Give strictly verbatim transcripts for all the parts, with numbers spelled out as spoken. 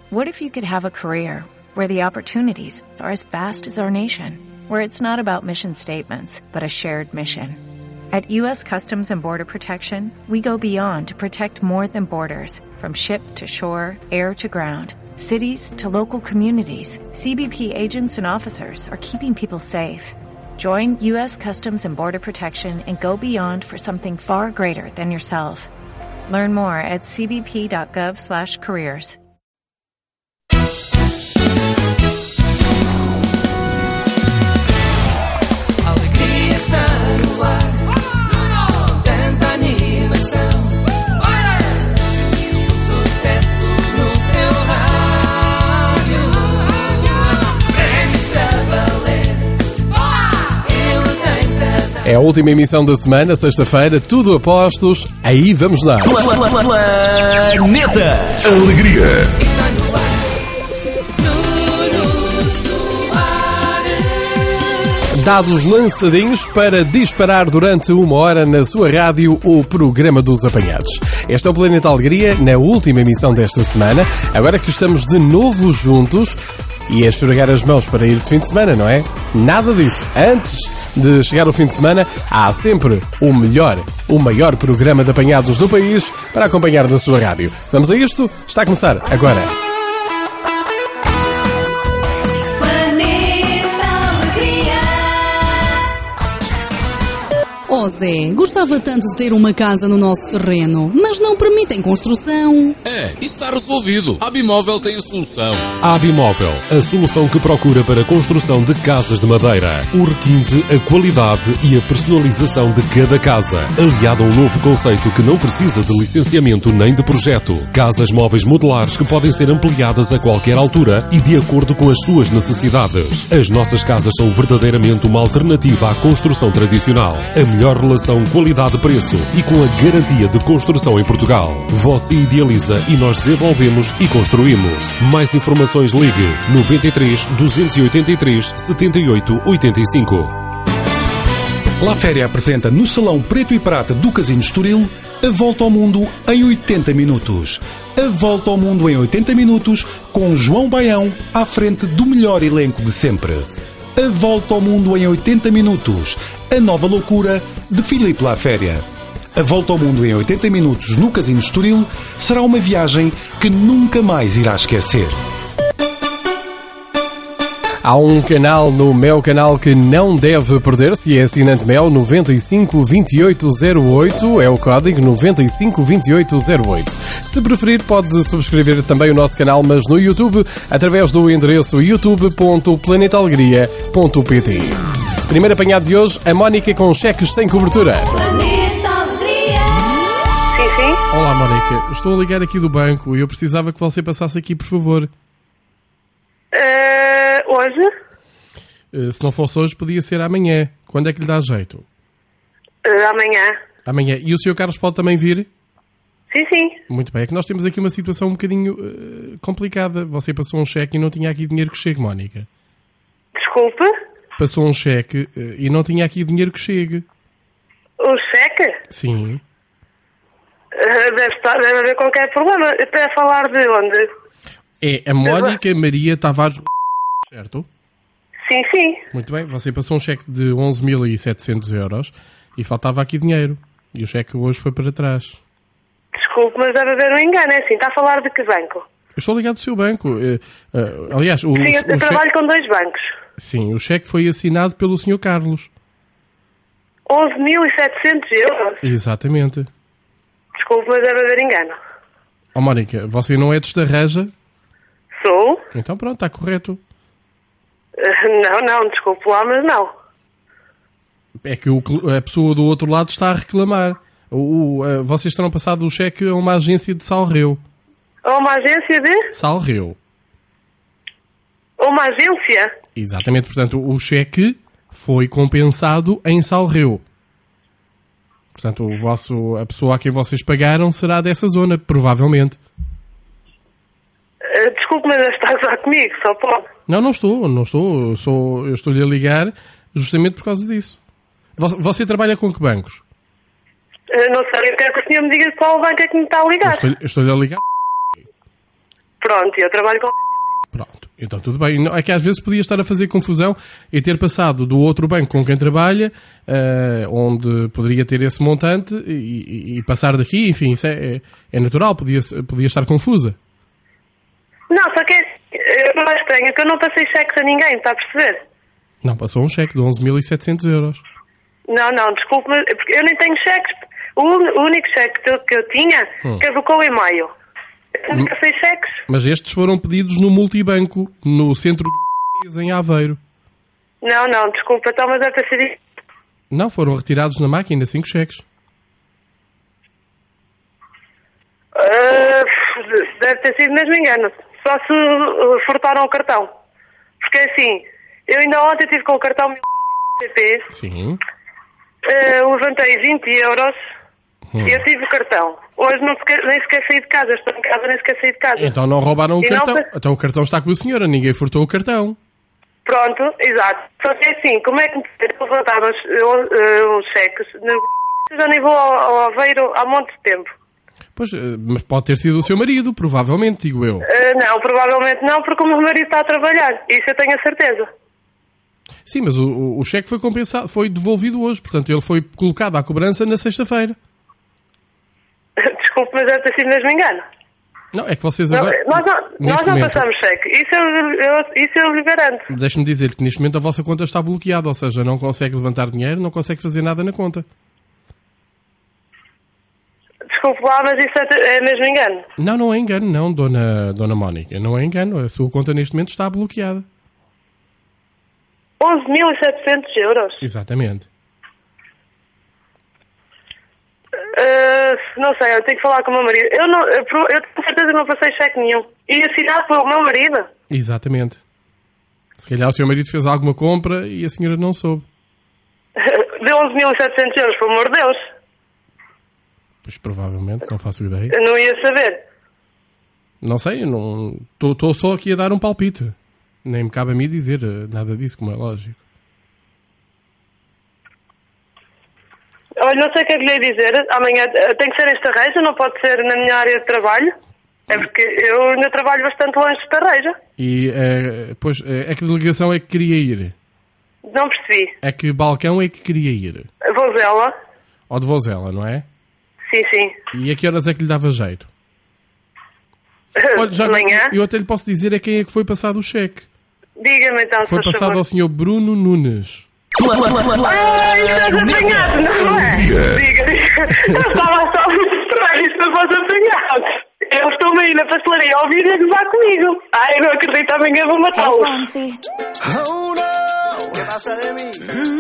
What if you could have a career where the opportunities are as vast as our nation, where it's not about mission statements, but a shared mission? At U S Customs and Border Protection, we go beyond to protect more than borders, from ship to shore, air to ground, cities to local communities. C B P agents and officers are keeping people safe. Join U S Customs and Border Protection and go beyond for something far greater than yourself. Learn more at c b p dot gov slash careers. Alegria está no ar, tanta animação, o sucesso no seu rádio, prémios para valer, ele tem para dar. É a última emissão da semana, sexta-feira, tudo a postos, aí vamos lá. Planeta Alegria. Está no ar, Nuno Soares. Dados lançadinhos para disparar durante uma hora na sua rádio o programa dos apanhados. Este é o Planeta Alegria, na última emissão desta semana, agora que estamos de novo juntos e a esfregar as mãos para ir de fim de semana, não é? Nada disso. Antes de chegar o fim de semana, há sempre o melhor, o maior programa de apanhados do país para acompanhar na sua rádio. Vamos a isto? Está a começar agora. Oh Zé, gostava tanto de ter uma casa no nosso terreno, mas não permitem construção. É, isso está resolvido. A Abimóvel tem a solução. A Abimóvel, a solução que procura para a construção de casas de madeira. O requinte, a qualidade e a personalização de cada casa. Aliado a um novo conceito que não precisa de licenciamento nem de projeto. Casas móveis modulares que podem ser ampliadas a qualquer altura e de acordo com as suas necessidades. As nossas casas são verdadeiramente uma alternativa à construção tradicional. A melhor relação qualidade-preço e com a garantia de construção em Portugal. Você idealiza e nós desenvolvemos e construímos. Mais informações ligue noventa e três, duzentos e oitenta e três, setenta e oito, oitenta e cinco. La Féria apresenta no Salão Preto e Prata do Casino Estoril a Volta ao Mundo em oitenta minutos. A Volta ao Mundo em oitenta minutos com João Baião à frente do melhor elenco de sempre. A Volta ao Mundo em oitenta minutos. A nova loucura de Filipe La Féria. A Volta ao Mundo em oitenta minutos no Casino Estoril será uma viagem que nunca mais irá esquecer. Há um canal no Mel Canal que não deve perder, se é assinante Mel, noventa e cinco, vinte e oito, zero oito, é o código noventa e cinco, vinte e oito, zero oito. Se preferir, pode subscrever também o nosso canal, mas no YouTube, através do endereço youtube ponto planeta alegria ponto p t. Primeiro apanhado de hoje, a Mónica com cheques sem cobertura. Planeta Alegria. Sim, sim. Olá, Mónica. Estou a ligar aqui do banco e eu precisava que você passasse aqui, por favor. Uh, hoje? Uh, se não fosse hoje, podia ser amanhã. Quando é que lhe dá jeito? Uh, amanhã. Amanhã. E o senhor Carlos pode também vir? Sim, sim. Muito bem. É que nós temos aqui uma situação um bocadinho uh, complicada. Você passou um cheque e não tinha aqui dinheiro que chegue, Mónica. Desculpe? Passou um cheque uh, e não tinha aqui dinheiro que chegue. O cheque? Sim. Uh, deve, estar, deve haver qualquer problema. Até a falar de onde? É a Mónica Maria Tavares, certo? Sim, sim. Muito bem. Você passou um cheque de onze mil e setecentos euros e faltava aqui dinheiro. E o cheque hoje foi para trás. Desculpe, mas deve haver um engano. É assim, está a falar de que banco? Eu estou ligado do seu banco. Uh, uh, aliás, o, Sim, eu, eu o trabalho cheque... com dois bancos. Sim, o cheque foi assinado pelo senhor Carlos. onze mil e setecentos euros? Exatamente. Desculpe, mas deve haver engano. Oh, Mónica, você não é de Estarreja? Sou? Então pronto, está correto. Uh, não, não, desculpe lá, mas não. É que o, a pessoa do outro lado está a reclamar. O, o, uh, vocês terão passado o cheque a uma agência de Salreu. A uma agência de? Salreu. A uma agência? Exatamente, portanto, o cheque foi compensado em Salreu. Portanto, o vosso, a pessoa a quem vocês pagaram será dessa zona, provavelmente. Uh, desculpe, mas está a gozar comigo, só pode. Não, não estou, não estou. Eu, sou, eu estou-lhe a ligar justamente por causa disso. Você, você trabalha com que bancos? Uh, não sei, eu quero que o senhor me diga qual banco é que me está a ligar. Eu estou-lhe, eu estou-lhe a ligar. Pronto, eu trabalho com... Pronto, então tudo bem. Não, é que às vezes podia estar a fazer confusão e ter passado do outro banco com quem trabalha, uh, onde poderia ter esse montante, e, e, e passar daqui, enfim, isso é, é, é natural, podia, podia estar confusa. Não, só que é, eu acho estranho que eu não passei cheques a ninguém, está a perceber? Não, passou um cheque de onze mil e setecentos euros. Não, não, desculpe, mas porque eu nem tenho cheques. O, un- o único cheque que eu, que eu tinha Hum. caducou em maio. Eu não passei cheques. Mas estes foram pedidos no multibanco, no centro de em Aveiro. Não, não, desculpa, então, mas deve ter sido... Não, foram retirados na máquina cinco cheques. Ah, deve ter sido mesmo engano. Só se uh, furtaram o cartão. Porque assim, eu ainda ontem estive com o cartão C P, Sim. uh, levantei vinte euros Hum. e eu tive o cartão. Hoje não sequer, nem sequer saí de casa, estou em casa, nem sequer saí de casa. Então não roubaram o E não cartão. pa- Então o cartão está com a senhora, ninguém furtou o cartão. Pronto, exato. Só que assim, como é que me levantaram os, uh, os cheques? Eu já nem vou ao, ao Aveiro há muito tempo. Pois, eh, mas pode ter sido o seu marido, provavelmente, digo eu. Uh, não, provavelmente não, porque o meu marido está a trabalhar. Isso eu tenho a certeza. Sim, mas o, o, o cheque foi compensado, foi devolvido hoje, portanto ele foi colocado à cobrança na sexta-feira. Desculpe, mas deve ter sido mesmo engano. Não, é que vocês Não, agora... nós não, nós neste não momento- passamos cheque. Isso eu, eu, isso eu lhe garanto. Deixe-me dizer que neste momento a vossa conta está bloqueada, ou seja, não consegue levantar dinheiro, não consegue fazer nada na conta. Desculpe lá, mas isso é, é mesmo engano. Não, não é engano, não, dona, dona Mónica, não é engano. A sua conta neste momento está bloqueada. onze mil e setecentos euros. Exatamente. Uh, não sei, eu tenho que falar com o meu marido. Eu, não, eu, pro- eu tenho certeza que não passei cheque nenhum. E assinado pelo meu marido. Exatamente. Se calhar o seu marido fez alguma compra e a senhora não soube. De onze mil e setecentos euros, pelo amor de Deus. Pois provavelmente, não faço ideia. Eu não ia saber. Não sei, estou só aqui a dar um palpite. Nem me cabe a mim dizer eh, nada disso, como é lógico. Olha, não sei o que é que lhe ia dizer. Amanhã eh, tem que ser esta reja, não pode ser na minha área de trabalho. É porque eu ainda trabalho bastante longe desta reja. E, eh, pois, eh, é que delegação é que queria ir? Não percebi. É que balcão é que queria ir? Vozela. Ou de Vozela, não é? Sim, sim. E a que horas é que lhe dava jeito? Olha, já De manhã. eu até lhe posso dizer a quem é que foi passado o cheque. Diga-me então, Foi se faz passado favor. ao senhor Bruno Nunes. Ai, estás apanhado, não é? Diga, diga. Eu estava só muito estranho, isto não fosse apanhado. Eu estou-me aí na pastelaria a ouvir e a gozar comigo. Ai, eu não acredito, amanhã vou matá-los. Oh no, ¿qué pasa de mí?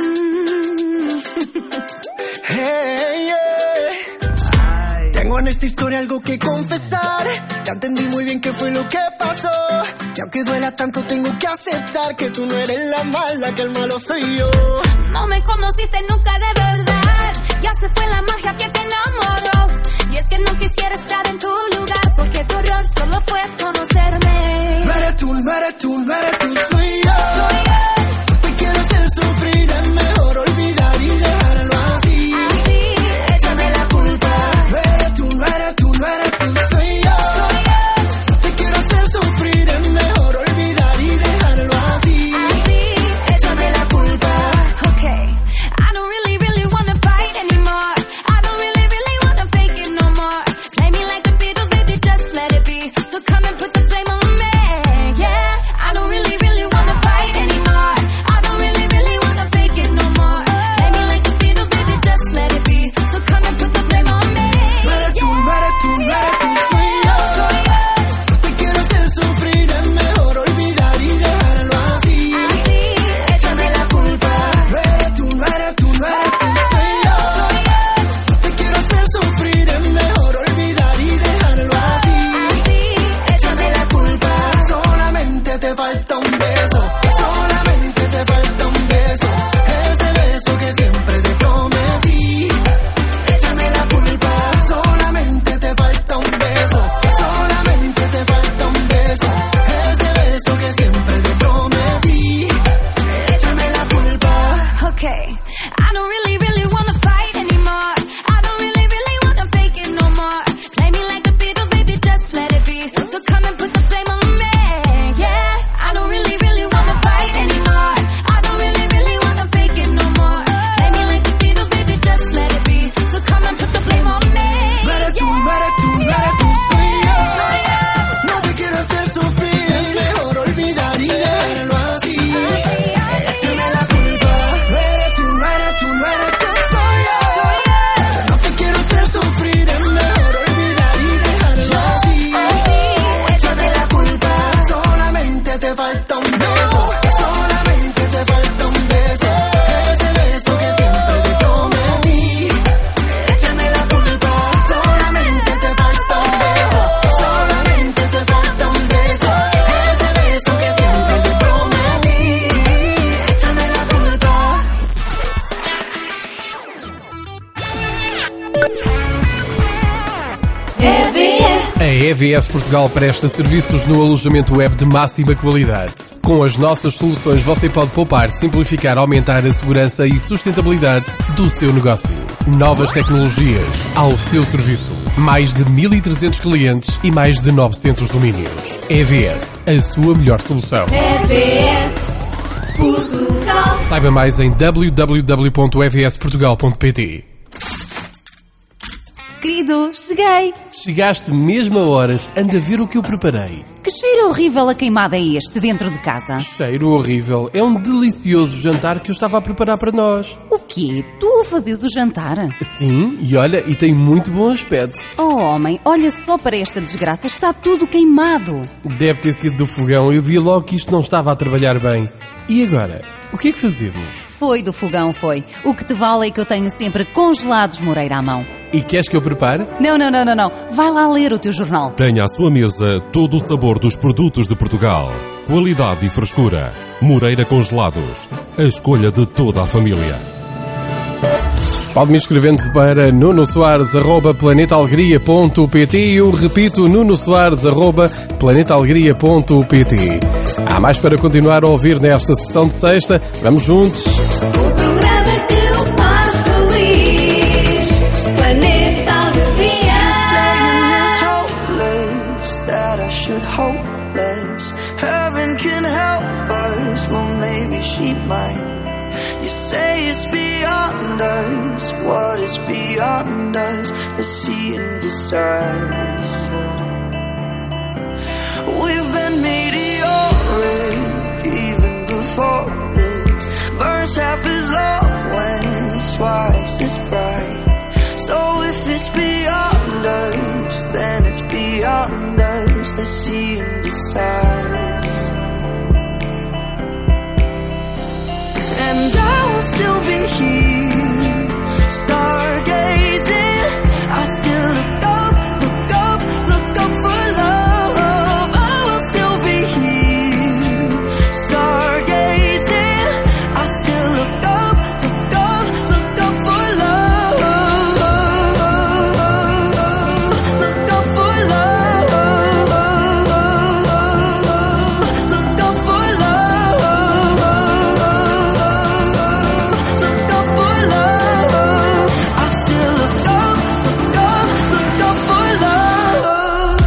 Hey, yeah. Tengo en esta historia algo que confesar. Ya entendí muy bien qué fue lo que pasó. Y aunque duela tanto, tengo que aceptar que tú no eres la mala, que el malo soy yo. No me conociste nunca de verdad. Ya se fue la magia que te enamoró. Y es que no quisiera estar en tu lugar, porque tu error solo fue conocerme. No eres tú, no eres tú, no eres tú, soy yo. Soy yo. No te quiero hacer sufrir, es mejor olvidar y dejarlo así. Así, Échame la culpa. No eres tú, no eres tú, no eres tú, soy yo. soy yo. No te quiero hacer sufrir, es mejor olvidar y dejarlo así. Así, Échame la culpa. okay. I don't really, really wanna fight anymore. I don't really, really wanna fake it no more. Play me like the Beatles, baby, just let it be. So come and put the flame on me, yeah. I don't really, really wanna fight anymore. I don't really, really wanna fake it no more. Play me like the Beatles, baby, just let it be. So come and put the flame on me, No eres tú, no eres tú, no eres tú, soy yo. soy yo. No te quiero hacer sufrir, es mejor olvidar y dejarlo así. Así, Échame la culpa. No eres tú, no eres tú, no eres tú, soy yo. soy yo. No te quiero hacer sufrir, es mejor olvidar y dejarlo así. Así, Échame la culpa. Solamente te falta un beso. E V S Portugal presta serviços no alojamento web de máxima qualidade. Com as nossas soluções você pode poupar, simplificar, aumentar a segurança e sustentabilidade do seu negócio. Novas tecnologias ao seu serviço. Mais de mil e trezentos clientes e mais de novecentos domínios. E V S, a sua melhor solução. E V S Portugal. Saiba mais em w w w ponto e v s portugal ponto p t. Querido, cheguei. Chegaste mesmo a horas. Anda a ver o que eu preparei. Que cheiro horrível a queimada é este dentro de casa? Cheiro horrível. É um delicioso jantar que eu estava a preparar para nós. O quê? Tu a fazes o jantar? Sim, e olha, e tem muito bom aspecto. Oh, homem, olha só para esta desgraça. Está tudo queimado. Deve ter sido do fogão. Eu vi logo que isto não estava a trabalhar bem. E agora? O que é que fazemos? Foi do fogão, foi. O que te vale é que eu tenho sempre congelados Moreira à mão. E queres que eu prepare? Não, não, não, não, não. Vai lá ler o teu jornal. Tenha à sua mesa todo o sabor dos produtos de Portugal. Qualidade e frescura. Moreira Congelados. A escolha de toda a família. Pode-me escrevendo para nuno soares arroba planeta alegria ponto p t. Eu repito, nuno soares arroba planeta alegria ponto p t. Há mais para continuar a ouvir nesta sessão de sexta. Vamos juntos. O programa que o faz feliz. Planeta Alegria. Saying it's hopeless, that I should hope less. Heaven can help us, well maybe she might. You say it's beyond us, what is beyond us? Let's see and decide. We've been meteoric even before this. Burns half as long when it's twice as bright. So if it's beyond us, then it's beyond us. Let's see and decide. And I will still be here, stargazing. I still look up, look up, look up for love. I will still be here, stargazing. I still look up, look up, look up for love. Look up for love. Look up for love. Look up for love. I still look up, look up, look up for love.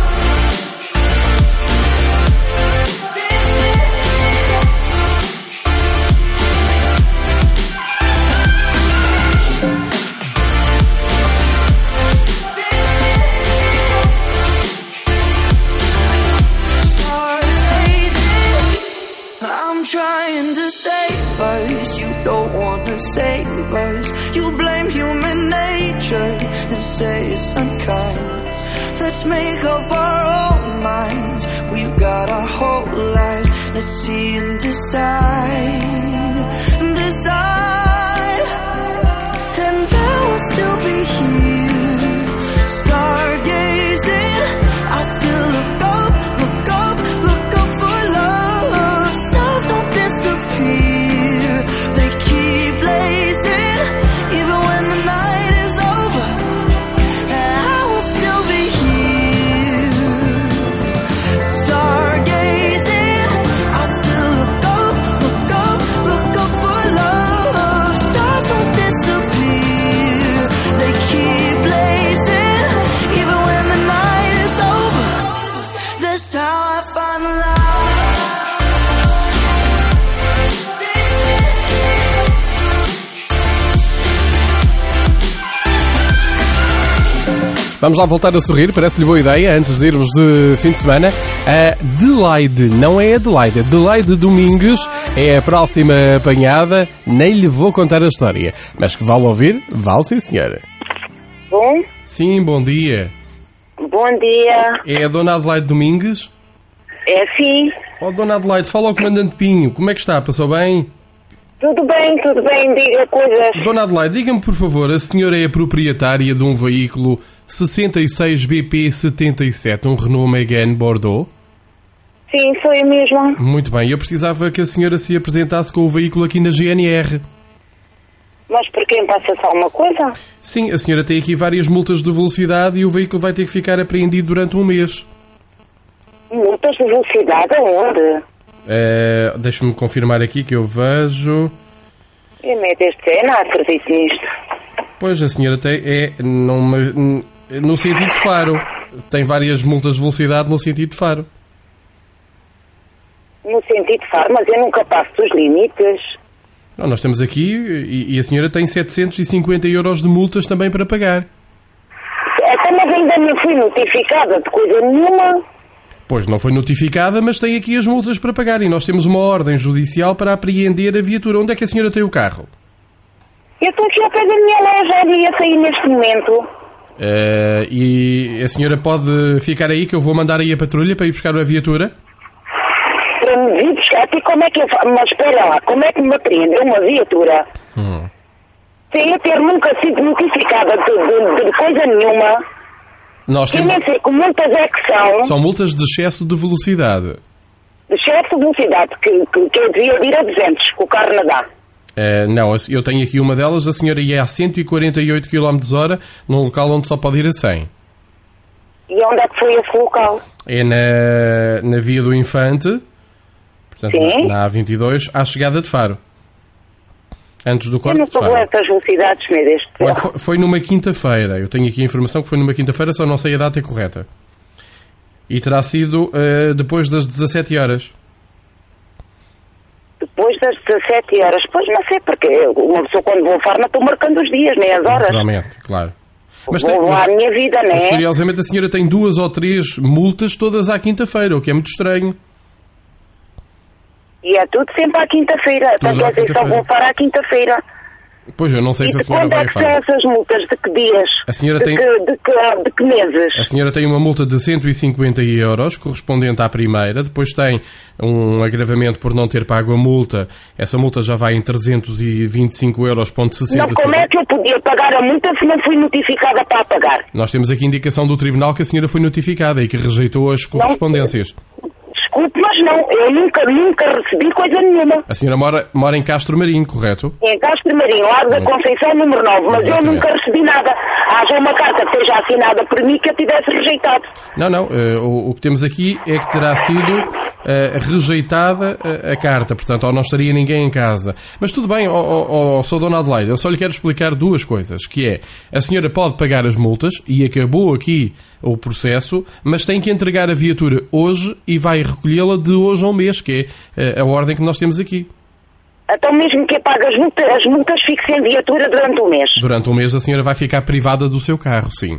I'm trying to save us, you don't wanna save us. You blame human nature and say it's unkind. Let's make up our own minds, we've got our whole lives. Let's see and decide, decide. And I will still be here, stargazing. I still look up, look up, look up for love. Stars don't disappear, they keep blazing, even when the night is over. And I will still be here, stargazing. I still look up, look up, look up for love. Stars don't disappear, they keep blazing, even when the night is over. That's how I find love. Vamos lá voltar a sorrir, parece-lhe boa ideia, antes de irmos de fim de semana. A Adelaide, não é Adelaide, Adelaide Domingues é a próxima apanhada, nem lhe vou contar a história. Mas que vale ouvir? Vale sim, senhora. Bom, Sim, bom dia. bom dia. É a Dona Adelaide Domingues? É sim, Oh, Dona Adelaide, fala ao Comandante Pinho, como é que está? Passou bem? tudo bem, tudo bem, diga coisas. Dona Adelaide, diga-me por favor, a senhora é a proprietária de um veículo sessenta e seis B P setenta e sete, um Renault Megane Bordeaux? Sim, sou eu mesma. Muito bem, eu precisava que a senhora se apresentasse com o veículo aqui na G N R. Mas por quem passa-se alguma coisa? Sim, a senhora tem aqui várias multas de velocidade e o veículo vai ter que ficar apreendido durante um mês. Multas de velocidade aonde? Uh, Deixa-me confirmar aqui que eu vejo... Eu me deste, não acredito nisto. Pois, a senhora tem, é numa, no sentido de Faro. Tem várias multas de velocidade no sentido de Faro. No sentido de Faro, mas eu nunca passo dos limites. Não, nós estamos aqui e, e a senhora tem setecentos e cinquenta euros de multas também para pagar. Até mas ainda não fui notificada de coisa nenhuma. Pois, não foi notificada, mas tem aqui as multas para pagar e nós temos uma ordem judicial para apreender a viatura. Onde é que a senhora tem o carro? Eu estou aqui ao pé da minha loja e ia sair neste momento. Uh, e a senhora pode ficar aí que eu vou mandar aí a patrulha para ir buscar a viatura? Para me vir buscar, e como é que eu faço? Mas espera lá, como é que me apreende uma viatura? Hum. Sem eu ter nunca sido notificada de, de, de coisa nenhuma. Nós temos... Eu nem sei que multas é que são. São multas de excesso de velocidade. De excesso de velocidade, que, que, que eu devia ir a duzentos, que o carro não dá. Uh, não, eu tenho aqui uma delas, a senhora ia a cento e quarenta e oito quilómetros por hora num local onde só pode ir a cem. E onde é que foi esse local? É na, na Via do Infante, portanto, Sim. na A vinte e dois, à chegada de Faro. Antes do corte eu não de Faro. sou essas velocidades, meu Deus. Olha, foi, foi numa quinta-feira. Eu tenho aqui a informação que foi numa quinta-feira, só não sei a data correta. E terá sido uh, depois das dezassete horas. Depois das dezassete horas? Pois não sei, porque uma pessoa quando vou a Faro não estou marcando os dias, nem as horas. Naturalmente, claro. Mas vou tem, lá mas, a minha vida, não é? Mas curiosamente a senhora tem duas ou três multas todas à quinta-feira, o que é muito estranho. E é tudo sempre à quinta-feira. Tudo Portanto, à quer dizer, só quinta-feira. vou para à quinta-feira. Pois, eu não sei E se a de senhora quando vai é a que são Faro. essas multas? De que dias? A senhora de, tem- que, de, que, de que meses? A senhora tem uma multa de cento e cinquenta euros, correspondente à primeira. Depois tem um agravamento por não ter pago a multa. Essa multa já vai em trezentos e vinte e cinco euros, ponto sessenta. Não, como é que eu podia pagar a multa se não fui notificada para a pagar? Nós temos aqui indicação do Tribunal que a senhora foi notificada e que rejeitou as correspondências. Desculpe, mas não. Eu nunca, nunca recebi coisa nenhuma. A senhora mora, mora em Castro Marinho, correto? Em Castro Marinho, Largo da Hum. Conceição, número nove. Mas Exatamente. eu nunca recebi nada. Haja uma carta que seja assinada por mim que eu tivesse rejeitado. Não, não. eh, o, o que temos aqui é que terá sido eh, rejeitada a, a carta. Portanto, ou não estaria ninguém em casa. Mas tudo bem, ó ó, ó, sou Dona Adelaide. Eu só lhe quero explicar duas coisas. Que é, a senhora pode pagar as multas e acabou aqui o processo, mas tem que entregar a viatura hoje e vai recolhê-la de hoje a um mês, que é eh, a ordem que nós temos aqui. Então mesmo que eu pague as multas, as multas fico sem viatura durante um mês. Durante um mês a senhora vai ficar privada do seu carro, sim.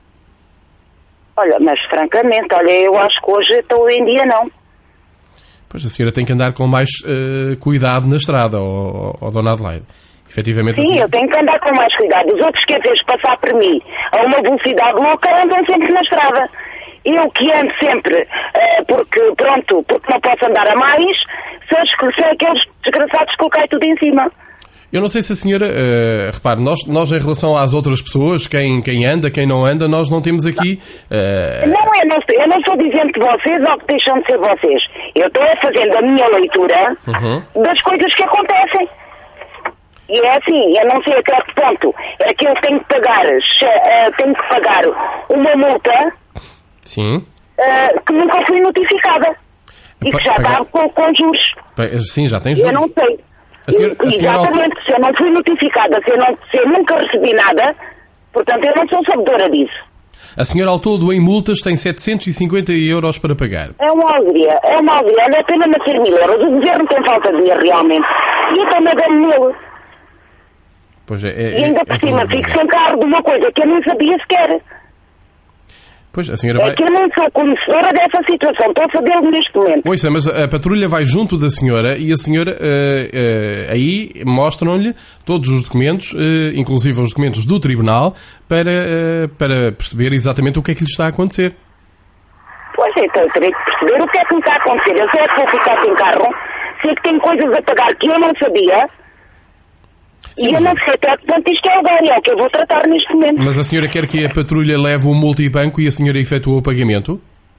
Olha, mas francamente, olha, eu acho que hoje estou em dia não. Pois a senhora tem que andar com mais eh, cuidado na estrada, ó, ó, ó, Dona Adelaide. Efetivamente, a Sim, senhora- eu tenho que andar com mais cuidado. Os outros, quer dizer, passar por mim a uma velocidade louca, andam sempre na estrada. Eu que ando sempre, eh, porque, pronto, porque não posso andar a mais, são, os- são aqueles desgraçados que eu caio tudo em cima. Eu não sei se a senhora... eh, repare, nós, nós em relação às outras pessoas, quem, quem anda, quem não anda, nós não temos aqui... eh, Não, eu não, estou- eu não estou dizendo que vocês ou que deixam de ser vocês. Eu estou a fazendo a minha leitura Uhum. das coisas que acontecem. E é assim, eu não sei até que ponto é que eu tenho que pagar, che- eh, tenho que pagar uma multa Sim. eh, que nunca fui notificada. E Pa- que já pagar- está com, com juros. Pa- Sim, já tem Eu juros. não sei. A senhora- a senhora- Exatamente, se eu não fui notificada, se eu, não, se eu nunca recebi nada, portanto eu não sou sabedora disso. A senhora ao todo em multas tem setecentos e cinquenta euros para pagar. É uma alegria, é uma alegria. Olha, é pena não ser mil euros. O governo tem falta de dinheiro realmente. E eu também dou-me nele. Pois é, é, E ainda é- por é cima como fico dizer. sem carro de uma coisa que eu não sabia sequer. Pois, a senhora É vai... que eu não sou conhecedora dessa situação. Estou a saber neste momento. Ouça, mas a patrulha vai junto da senhora e a senhora eh, eh, aí mostram-lhe todos os documentos, eh, inclusive os documentos do tribunal, para, eh, para perceber exatamente o que é que lhe está a acontecer. Pois então eu terei que perceber o que é que me está a acontecer. Eu sei é que vou ficar sem carro, sei que tenho coisas a pagar que eu não sabia. Sim, e eu mas- não sei até que ponto isto é legal, é o que eu vou tratar neste momento. Mas a senhora quer que a patrulha leve o multibanco e a senhora efetuou o pagamento?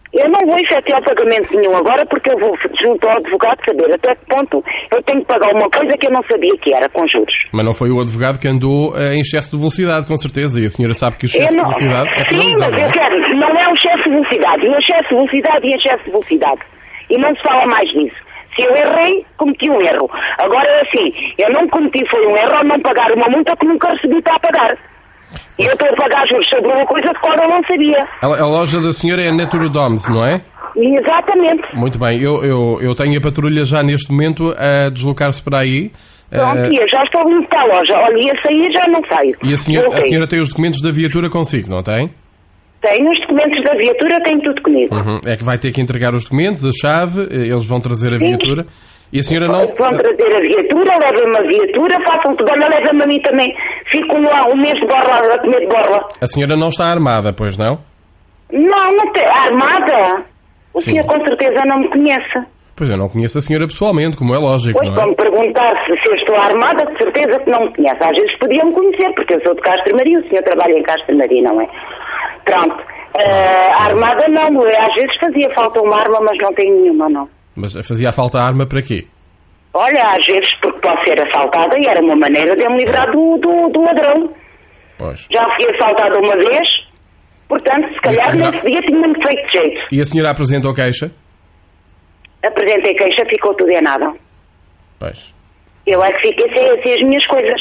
Eu não vou efetuar pagamento nenhum agora porque eu vou junto ao advogado saber até que ponto eu tenho que pagar uma coisa que eu não sabia que era, com juros. Mas não foi o advogado que andou em excesso de velocidade, com certeza, e a senhora sabe que o excesso não, de velocidade é sim, penalizado, mas não é? eu quero, não é o excesso de velocidade, e excesso de velocidade e excesso de velocidade. E não se fala mais nisso. Se eu errei, cometi um erro. Agora é assim, eu não cometi foi um erro ao não pagar uma multa que nunca recebi para pagar. E eu estou a pagar juros sobre uma coisa de qual eu não sabia. A, a loja da senhora é a Naturodoms, não é? Exatamente. Muito bem, eu, eu, eu tenho a patrulha já neste momento a deslocar-se para aí. Pronto, uh, e eu já estou muito para a loja. Olha, ia sair já não saio. E a senhora, Okay. a senhora tem os documentos da viatura consigo, não tem? Tenho os documentos da viatura, tenho tudo comigo. Uhum. É que vai ter que entregar os documentos, a chave, eles vão trazer a Sim. viatura. E a senhora não... Vão trazer a viatura, levem-me a viatura, façam tudo. Olha, levem-me a mim também. Fico lá um mês de borla, a comer de borla. A senhora não está armada, pois não? Não, não tem. Armada? O Sim. senhor com certeza não me conhece. Pois eu não conheço a senhora pessoalmente, como é lógico, Pois, não para é? me perguntar se, se eu estou armada, de certeza que não me conhece. Às vezes podia-me conhecer, porque eu sou de Castro Maria, o senhor trabalha em Castro Maria, não é? Pronto. Uh, a armada não, às vezes fazia falta uma arma, mas não tenho nenhuma, não. Mas fazia falta arma para quê? Olha, às vezes porque posso ser assaltada e era uma maneira de eu me livrar do, do, do ladrão. Pois. Já fui assaltada uma vez, portanto, se calhar senhora... nesse dia tinha-me feito jeito. E a senhora apresentou queixa? Apresentei queixa, ficou tudo em nada. Pois. Eu é que fiquei sem, sem as minhas coisas.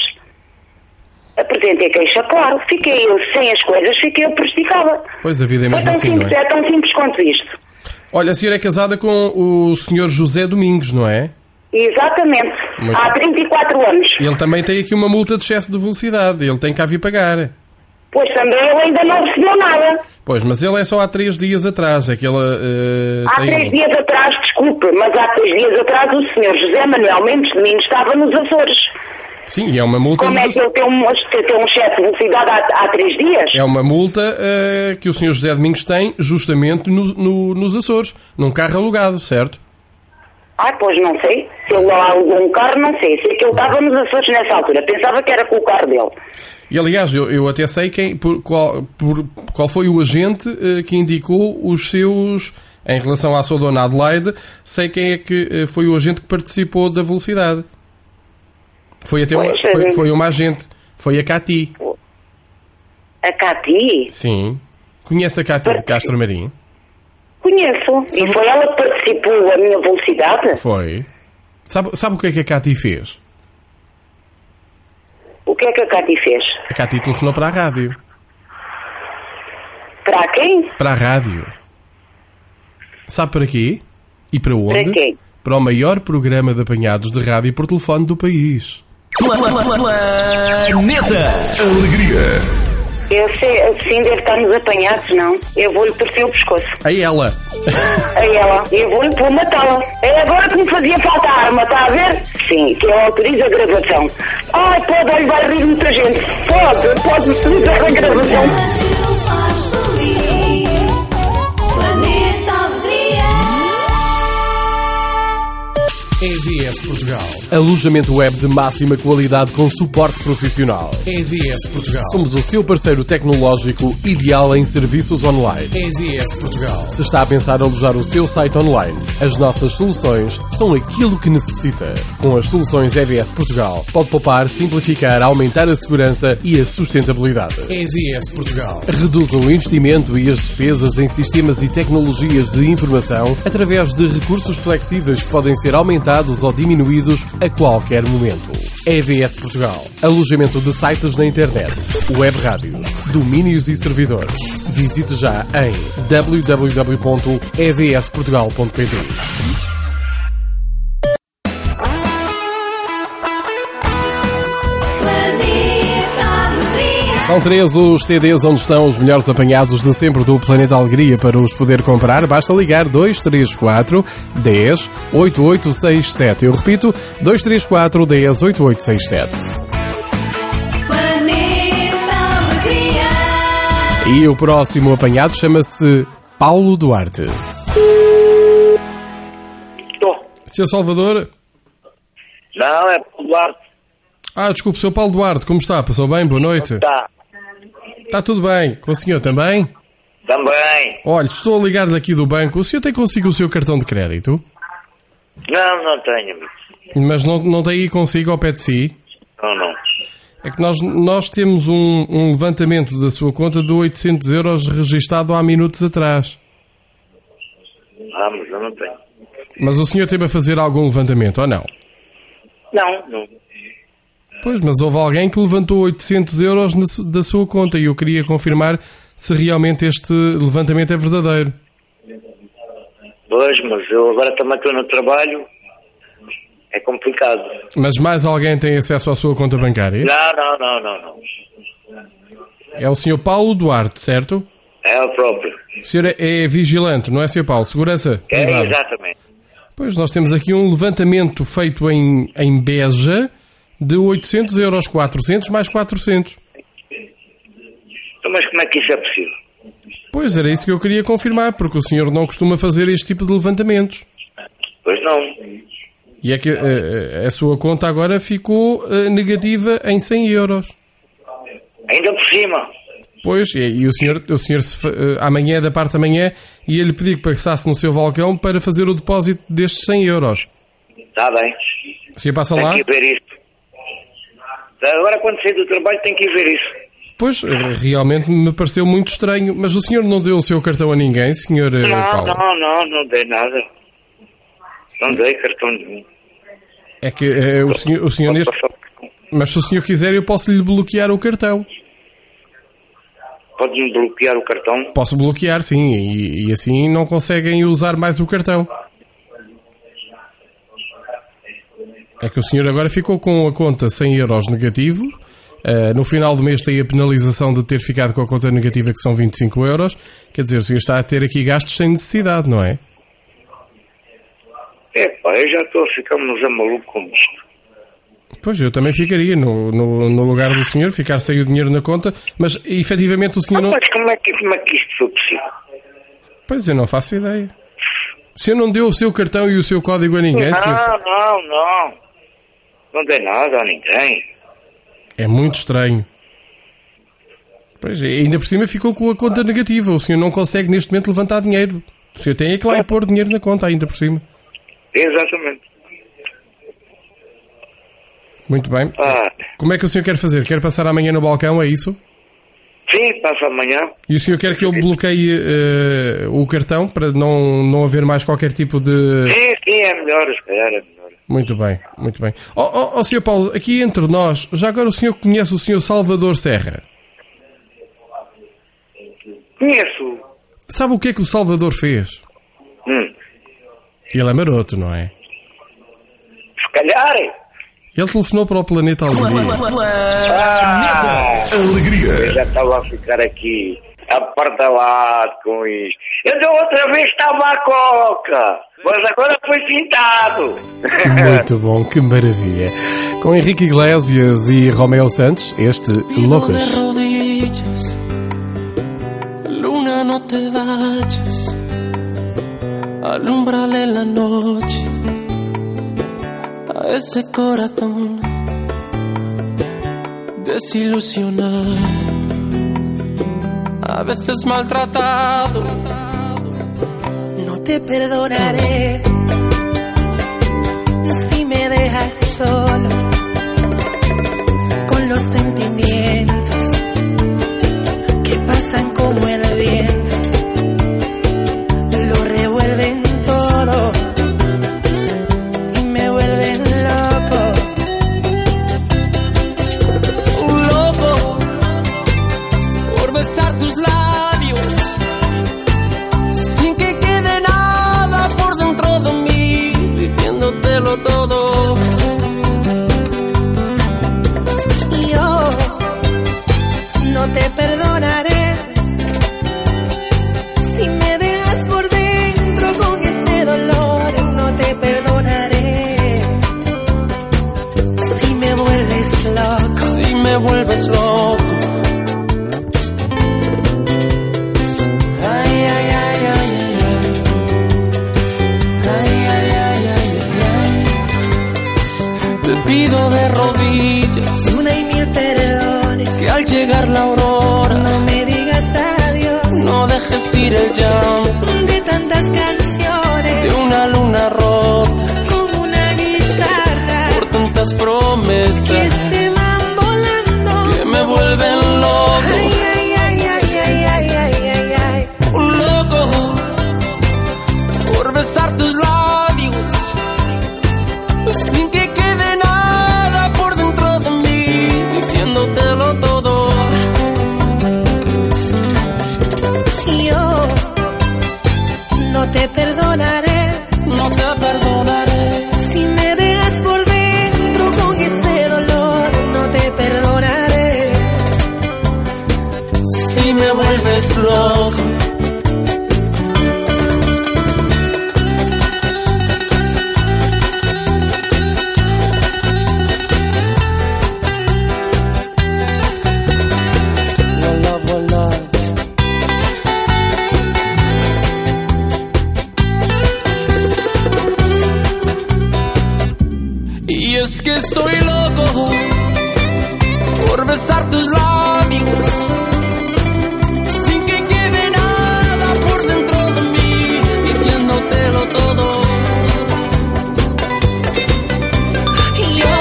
Apresentei queixa, claro. Fiquei eu sem as coisas, fiquei eu prejudicada. Pois, a vida é mesmo Foi tão assim, simples, não é? é tão simples quanto isto. Olha, a senhora é casada com o senhor José Domingos, não é? Exatamente. Muito Há bem. trinta e quatro anos. Ele também tem aqui uma multa de excesso de velocidade. Ele tem que a vir pagar. Pois também ele ainda não recebeu nada. Pois, mas ele é só há três dias atrás. É que ele, uh, Há tem... três dias atrás, desculpe, mas há três dias atrás o senhor José Manuel Mendes de Mim estava nos Açores. Sim, e é uma multa... Como é que ele tem um, tem um excesso de velocidade há, há três dias? É uma multa uh, que o senhor José Domingos tem justamente no, no, nos Açores, num carro alugado, certo? Ah, pois não sei. Se ele lá alugou um carro, não sei. Sei que ele estava nos Açores nessa altura. Pensava que era com o carro dele. E aliás, eu, eu até sei quem, por, qual, por, qual foi o agente uh, que indicou os seus... Em relação à sua dona Adelaide, sei quem é que uh, foi o agente que participou da velocidade. Foi até uma, Pois, foi, é. foi uma agente. Foi a Cati. A Cati? Sim. Conhece a Cati de Castro Marim? Conheço. Sabe- E foi ela que participou a minha velocidade? Foi. Sabe, sabe o que é que a Cati fez? O que é que a Cati fez? A Cati telefonou para a rádio. Para quem? Para a rádio. Sabe para quê? E para onde? Para quê? Para o maior programa de apanhados de rádio por telefone do país. Planeta Alegria. Eu sei, assim deve estar nos apanhados, não? Eu vou-lhe torcer o pescoço. A ela. A ela. Eu vou-lhe vou matá-la. É agora que me fazia falta a arma, está a ver? Sim, que eu autorizo a gravação. Ai, pode, olha, vai rir muita gente. Pode, pode utilizar a gravação. E V S Portugal. Alojamento web de máxima qualidade com suporte profissional. E V S Portugal. Somos o seu parceiro tecnológico ideal em serviços online. E V S Portugal. Se está a pensar alojar o seu site online, as nossas soluções são aquilo que necessita. Com as soluções E V S Portugal, pode poupar, simplificar, aumentar a segurança e a sustentabilidade. E V S Portugal. Reduza o investimento e as despesas em sistemas e tecnologias de informação através de recursos flexíveis que podem ser aumentados ou diminuídos a qualquer momento. E V S Portugal. Alojamento de sites na internet, web rádios, domínios e servidores. Visite já em w w w ponto e v s portugal ponto p t. São três os C Ds onde estão os melhores apanhados de sempre do Planeta Alegria. Para os poder comprar, basta ligar dois três quatro, dez, oito oito seis sete. Eu repito, dois três quatro, dez, oito oito seis sete. E o próximo apanhado chama-se Paulo Duarte. Estou. senhor Salvador? Não, é Paulo Duarte. Ah, desculpe, senhor Paulo Duarte, como está? Passou bem? Boa noite. Está. Está tudo bem. Com o senhor também? Também. Olha, estou a ligar-lhe aqui do banco. O senhor tem consigo o seu cartão de crédito? Não, não tenho, amigo. Mas não, não tem aí consigo ao pé de si? Não, não. É que nós, nós temos um, um levantamento da sua conta de oitocentos euros registado há minutos atrás. Ah, mas eu não tenho. Mas o senhor teve a fazer algum levantamento, ou não? Não, não. Pois, mas houve alguém que levantou oitocentos euros na, su- da sua conta e eu queria confirmar se realmente este levantamento é verdadeiro. Pois, mas eu agora também estou no trabalho. É complicado. Mas mais alguém tem acesso à sua conta bancária? Não, não, não, não, não. É o senhor Paulo Duarte, certo? É o próprio. O senhor é, é vigilante, não é, senhor Paulo? Segurança? É, privada. exatamente. Pois, nós temos aqui um levantamento feito em, em Beja de oitocentos euros, quatrocentos mais quatrocentos. Então, mas como é que isso é possível? Pois, era isso que eu queria confirmar, porque o senhor não costuma fazer este tipo de levantamentos. Pois não. E é que a, a sua conta agora ficou uh, negativa em cem euros. Ainda por cima. Pois, e, e o senhor, o senhor se, uh, amanhã, da parte da manhã, ia-lhe pedir que passasse no seu balcão para fazer o depósito destes cem euros. Está bem. O senhor passa Tem lá? que ir ver isso. Agora, quando sair do trabalho, tem que ir ver isso. Pois, realmente me pareceu muito estranho. Mas o senhor não deu o seu cartão a ninguém, senhor uh, Não, Paulo? não, não, não dei nada. Não dei cartão nenhum. É que uh, o senhor, o senhor neste... Mas se o senhor quiser, eu posso lhe bloquear o cartão. Pode-me bloquear o cartão? Posso bloquear, sim, e, e assim não conseguem usar mais o cartão. É que o senhor agora ficou com a conta cem euros negativo. Uh, no final do mês tem a penalização de ter ficado com a conta negativa, que são vinte e cinco euros. Quer dizer, o senhor está a ter aqui gastos sem necessidade, não é? É pá, eu já estou a ficar mas é maluco com isto. Pois, eu também ficaria no, no, no lugar do senhor, ficar sem o dinheiro na conta, mas efetivamente o senhor Ah, não... mas como é, que, como é que isto foi possível? Pois, eu não faço ideia. O senhor não deu o seu cartão e o seu código a ninguém, Não, senhor? não, não. Não dei nada a ninguém. É muito estranho. Pois, e ainda por cima ficou com a conta negativa. O senhor não consegue neste momento levantar dinheiro. O senhor tem é que lá e pôr dinheiro na conta, ainda por cima. Exatamente. Muito bem. Ah. Como é que o senhor quer fazer? Quer passar amanhã no balcão, é isso? Sim, passa amanhã. E o senhor quer que eu bloqueie uh, o cartão para não, não haver mais qualquer tipo de... Sim, sim, é melhor, se calhar é melhor. Muito bem, muito bem. Ó oh, oh, oh, senhor Paulo, aqui entre nós, já agora o senhor conhece o senhor Salvador Serra? Conheço. Sabe o que é que o Salvador fez? Hum. Ele é maroto, não é? Se calhar. Ele telefonou para o Planeta Alegria. Ah, Alegria. Eu já estava a ficar aqui apartalado com isto. Eu da outra vez estava à coca, mas agora foi pintado. Muito bom, que maravilha. Com Henrique Iglesias e Romeo Santos, este Loucos. Luna, no te vayas, alúmbrale la noche a ese corazón desilusionado, a veces maltratado. No te perdonaré si me dejas solo con los sentimientos que pasan como el viento, lo revuelven todo y me vuelven loco. Loco por besar tus labios sin que quede nada por dentro de mí, diciéndotelo todo. Y yo no te perdonaré si me dejas por dentro con ese dolor. No te perdonaré si me vuelves loco. Si me vuelves loco. Ay, ay, ay, ay, ay, ay. Ay, ay, ay, ay, ay, ay. Te pido de rodillas Una y mil perdones que al llegar la aurora no me digas adiós. no dejes ir el llanto de tantas canciones, de una luna rota, como una guitarra, por tantas promesas que se van volando, que me vuelven loco. Ay, ay, ay, ay, ay, ay, ay, ay, ay. Un loco por besar tus labios sin que quede nada por dentro de mí, diciéndotelo todo. Yo no te perdonaré, no te perdonaré. Si me dejas por dentro con ese dolor, no te perdonaré. Si me vuelves loco, es que estoy loco por besar tus labios sin que quede nada por dentro de mí, diciéndotelo todo. Yo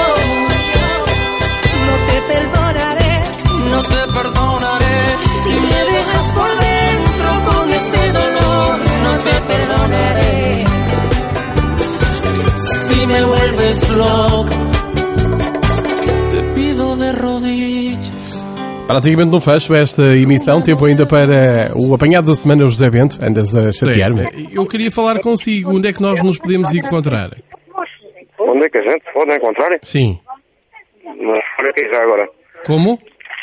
no te perdonaré, no te perdonaré. Si me dejas por dentro con ese dolor, no te perdonaré. Si me vuelves loco, te pido de rodillas. Praticamente no fecho esta emissão, tempo ainda para o apanhado da semana, José Bento. Andas a chatear-me. Eu queria falar consigo, onde é que nós nos podemos encontrar? Onde é que a gente pode encontrar? Sim. Mas para quê já agora? Como?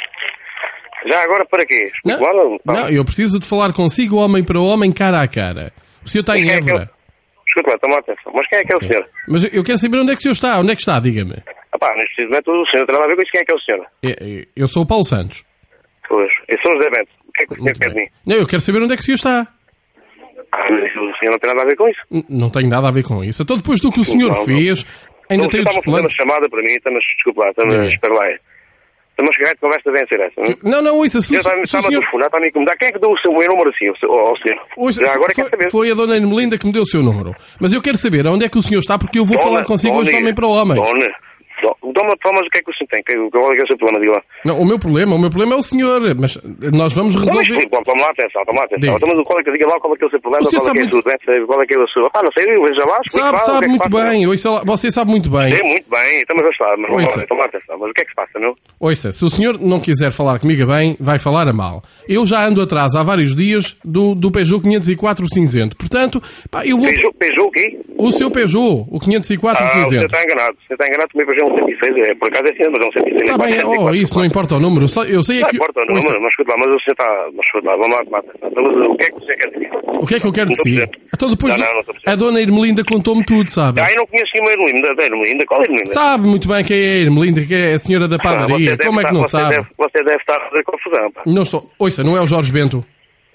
Já agora para quê? Não, não, eu preciso de falar consigo, homem para homem, cara a cara. O senhor está em Évora. Desculpa lá, toma atenção. Mas quem é que é o okay. senhor? Mas eu quero saber onde é que o senhor está. Onde é que está? Diga-me. Ah pá, neste precisamente o senhor não tem nada a ver com isso. Quem é que é o senhor? Eu, eu sou o Paulo Santos. Pois, eu sou o José Bento. O que é que o senhor quer de mim? Não, eu quero saber onde é que o senhor está. Ah, mas o senhor não tem nada a ver com isso? N não tenho nada a ver com isso. Então depois do que o senhor não, fez, não. ainda não, tenho estamos a fazer uma chamada para mim. Estamos, desculpa lá, estamos, é. espera lá. Estamos a chegar de conversa a vencer essa, não? Não, não, isso... Se, está-me se a senhor... telefonar, está-me a incomodar. Quem é que deu o seu meu número assim, ao senhor? Ouça, Já agora foi, quer saber. Foi a dona Ermelinda que me deu o seu número. Mas eu quero saber onde é que o senhor está, porque eu vou dona, falar consigo dona, hoje de homem para homem. Dona, dona, dona, mas o que é que o senhor tem? Qual é, é o seu problema? Diga lá. Não, o meu problema, o meu problema é o senhor, mas nós vamos resolver... Não, mas, toma lá atenção, toma lá atenção. Então, mas qual é que, diga lá qual é que é o seu problema, você qual é que é muito... a sua doença, qual é que é o seu... Ah, não sei, eu vejo lá, Sabe, lá, sabe é muito bem, ouça lá, você sabe muito bem. Sei muito bem, então mas está, mas ouça. Lá, toma lá atenção, mas o que é que se passa, não? Ouça, se o senhor não quiser falar comigo a bem, vai falar a mal. Eu já ando atrás há vários dias do, do Peugeot quinhentos e quatro cinzento, portanto, pá, eu vou... Peugeot, Peugeot o quê? O seu Peugeot, o quinhentos e quatro ah, cinzento. Você está enganado, você está enganado, também Peugeot é um cento e seis, é, por acaso é assim, mas é um cento e seis. Está bem, oh, isso não importa o número, eu sei é não que... Não importa o número, mas, mas escuta lá, mas o senhor está... Mas escuta lá, vamos lá tomar atenção. Então, o que é que você quer dizer? O que é que eu quero dizer? Então depois não, não, não a dona Ermelinda contou-me tudo, sabe? Ah, eu não conheço nenhuma Ermelinda, da Ermelinda, qual é a Ermelinda? Sabe muito bem quem é a Ermelinda, que é a senhora da padaria, como é que não você sabe? Deve, você deve estar a fazer confusão, pá. Não estou... Ouça, não é o Jorge Bento?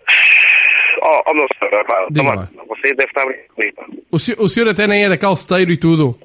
Oh, oh meu senhor, pá, toma, você deve estar a brincar comigo, pá. O senhor, o senhor até nem era calceteiro e tudo.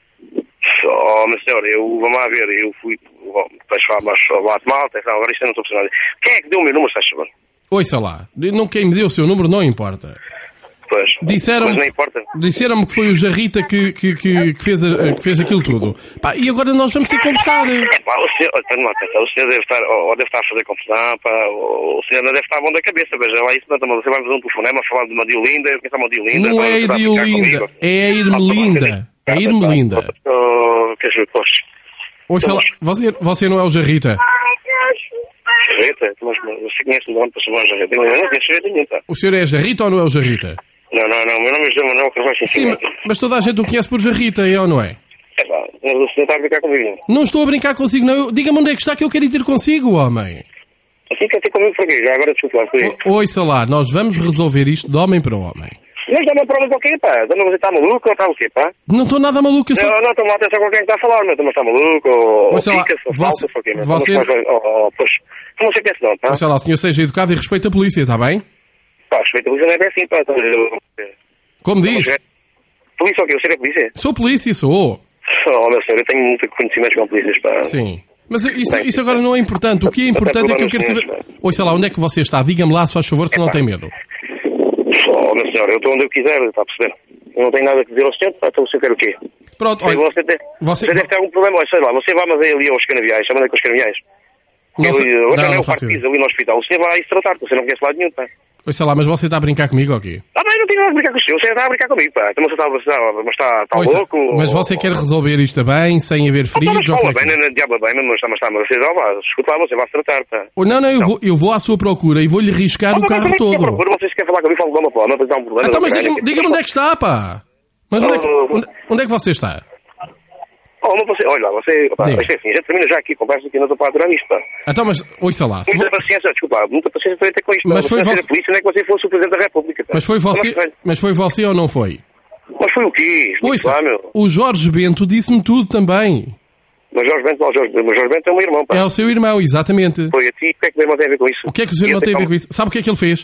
Oh, meu senhor, eu, vamos lá ver, eu fui, vais falar, mas lá de malta, agora isto eu não estou precisando. Quem é que deu o meu número, se achas? Ouça lá, não, quem me deu o seu número não importa. Pois, disseram-me não importa. Disseram-me que foi o Jarrita que, que, que, que, fez, a, que fez aquilo tudo. Pá, e agora nós vamos ter que conversar. É, pá, o senhor, o senhor deve estar, ou deve estar a fazer confusão, pá, o senhor não deve estar bom da cabeça, veja lá, isso não, você vai fazer um telefonema a falar de uma Diolinda, quem sabe uma Diolinda? Não é a Diolinda, é a Irmelinda. É a Irmelinda. Ouça lá, você, você não é o Jarrita? Jarrita? Mas você conhece o nome para chamar Jarrita? Eu não conheço Jarrita nenhum, pá. O senhor é Jarrita ou não é o Jarrita? Não, não, não, meu nome é José Manuel Carvalho Sim, mas toda a gente o conhece por Jarrita, é ou não é? É pá, mas o senhor está a brincar comigo. Não estou a brincar consigo, não. Diga-me onde é que está que eu quero ir ter consigo, homem. Assim quer ter comigo para quê? Já agora desculpa lá, foi. Ouça lá, nós vamos resolver isto de homem para homem. Mas dá uma prova para o quê, pá? Dá-me você está maluco ou está o quê, pá? Não estou nada maluco, eu só... Não, não, estou-me a atenção com quem está a falar, mas está maluco ou... Ouça lá, pica, ou você... falta, ou quê, você... Oh, pois, como você pensa não, pá? Ouça lá, o senhor seja educado e respeite a polícia, está bem? Pá, respeito a polícia não é bem assim, pá. Como diz? Polícia o quê? Você é polícia? Sou polícia, sou. Oh, meu senhor, eu tenho muito conhecimento com polícias, pá. Sim. Mas isso, isso agora não é importante. O que é importante é que eu quero saber... Ouça lá, onde é que você está? Diga-me lá, se faz favor, se não tem medo. Oh, meu senhor, eu estou onde eu quiser, está a perceber? Eu não tenho nada a dizer ao senhor, então o senhor quer o quê? Pronto, olha... Você, tem, você... você deve ter algum problema, sei lá, você vai mas é ali aos canaviais, chama-lhe com os canaviais. Não sei... Hoje não, é não o partido ali no hospital, o senhor vai se tratar, você não conhece lado nenhum, pá. Ouça lá, mas você está a brincar comigo ou quê? Ah, bem, não tenho nada a brincar com o senhor, você está a brincar comigo, pá. Então você está, mas está, está Ouça, louco? Mas você ou... quer resolver isto bem, sem haver feridos? Ah, mas fala bem, não é diabo bem, mas está, mas está, mas você já vai, escuta lá, você vai se tratar, pá. Oh, não, não, eu, não. Vou, eu vou à sua procura e vou-lhe riscar ah, o carro todo. À procura, vocês querem falar comigo, fala de uma forma, mas dá um problema. Então, mas diga-me diga onde é que está, pá. Mas onde é que, onde, onde é que você está? Oh, mas você, olha lá, você, pá, isto é assim, a gente termina já aqui, conversa aqui, não estou para aturar isto, pá. Então, mas, ouça lá. Muita vou... paciência, desculpa, muita paciência para ter com isto. Mas foi você... a polícia, não é que você fosse o Presidente da República, pá. Mas foi você, mas foi você ou não foi? Mas foi o quê? Ouça, lá, meu. O Jorge Bento disse-me tudo também. Mas Jorge Bento, não, Jorge, mas Jorge Bento é o meu irmão, pá. É o seu irmão, exatamente. Foi a ti, o que é que o meu irmão tem a ver com isso? O que é que o seu irmão tem a ver com isso? Sabe o que é que ele fez?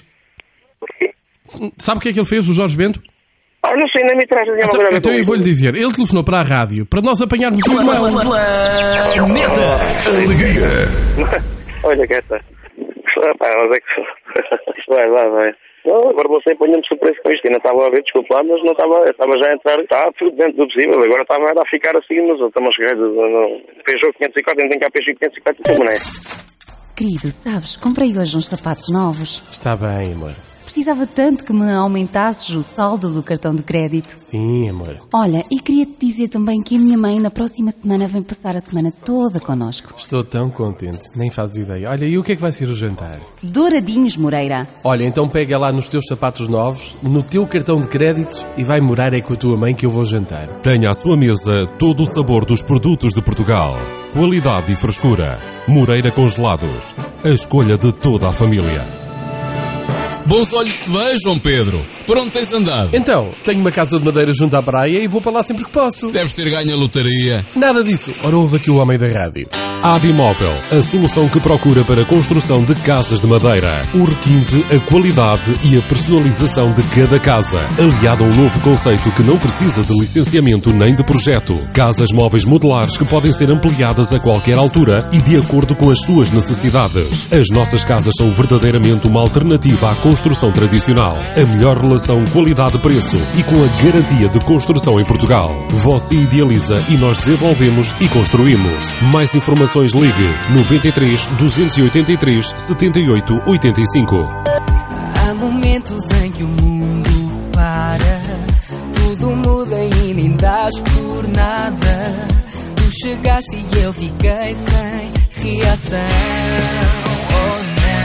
Sabe o que é que ele fez, o Jorge Bento? Ah, não sei, nem me traz. Então, então eu vou-lhe dizer, ele telefonou para a rádio para nós apanharmos o irmão. Planeta Alegria. Olha que esta. Pá, mas é que... Vai, vai, vai. Não, agora você põe-me surpresa com isto. Eu não estava a ver, desculpa lá, mas não estava... Estava já a entrar... Estava tudo dentro do possível. Agora estava a ficar assim, mas estamos a chegar... Peugeot quinhentos e quatro, não tem cá Peugeot quinhentos e quatro, como não é? Querido, sabes, comprei hoje uns sapatos novos. Está bem, amor. Precisava tanto que me aumentasses o saldo do cartão de crédito. Sim, amor. Olha, e queria-te dizer também que a minha mãe na próxima semana vem passar a semana toda connosco. Estou tão contente, nem fazes ideia. Olha, e o que é que vai ser o jantar? Douradinhos, Moreira. Olha, então pega lá nos teus sapatos novos, no teu cartão de crédito e vai morar é com a tua mãe que eu vou jantar. Tenha à sua mesa todo o sabor dos produtos de Portugal. Qualidade e frescura. Moreira Congelados. A escolha de toda a família. Bons olhos te vejam, Pedro. Por onde tens andado? Então, tenho uma casa de madeira junto à praia e vou para lá sempre que posso. Deves ter ganho a lotaria. Nada disso. Ora, ouve aqui o homem da rádio. Abimóvel, a solução que procura para a construção de casas de madeira. O requinte, a qualidade e a personalização de cada casa. Aliado a um novo conceito que não precisa de licenciamento nem de projeto. Casas móveis modulares que podem ser ampliadas a qualquer altura e de acordo com as suas necessidades. As nossas casas são verdadeiramente uma alternativa à construção tradicional. A melhor relação qualidade-preço e com a garantia de construção em Portugal. Você idealiza e nós desenvolvemos e construímos. Mais informações ligue noventa e três, duzentos e oitenta e três, setenta e oito, oitenta e cinco. Há momentos em que o mundo para, tudo muda e nem dás por nada. Tu chegaste e eu fiquei sem reação. Oh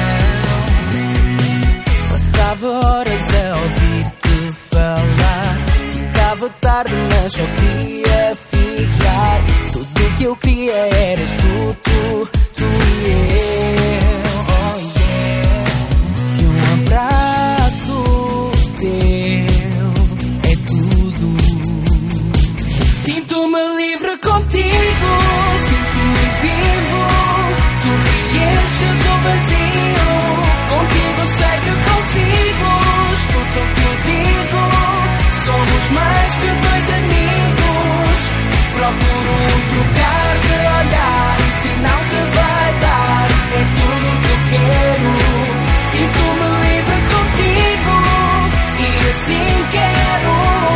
não. Passava horas a ouvir-te falar. Ficava tarde mas só queria ficar. Tudo que eu queria eras tu, tu, tu e eu. Oh yeah. E um abraço teu é tudo. Sinto-me livre contigo, sinto-me vivo. Tu preenches o vazio. Contigo sei que consigo. Escuta o que eu digo. Somos mais que dois amigos. Procuro um trocar de olhar, um sinal que vai dar. É tudo que eu quero. Sinto-me livre contigo e assim quero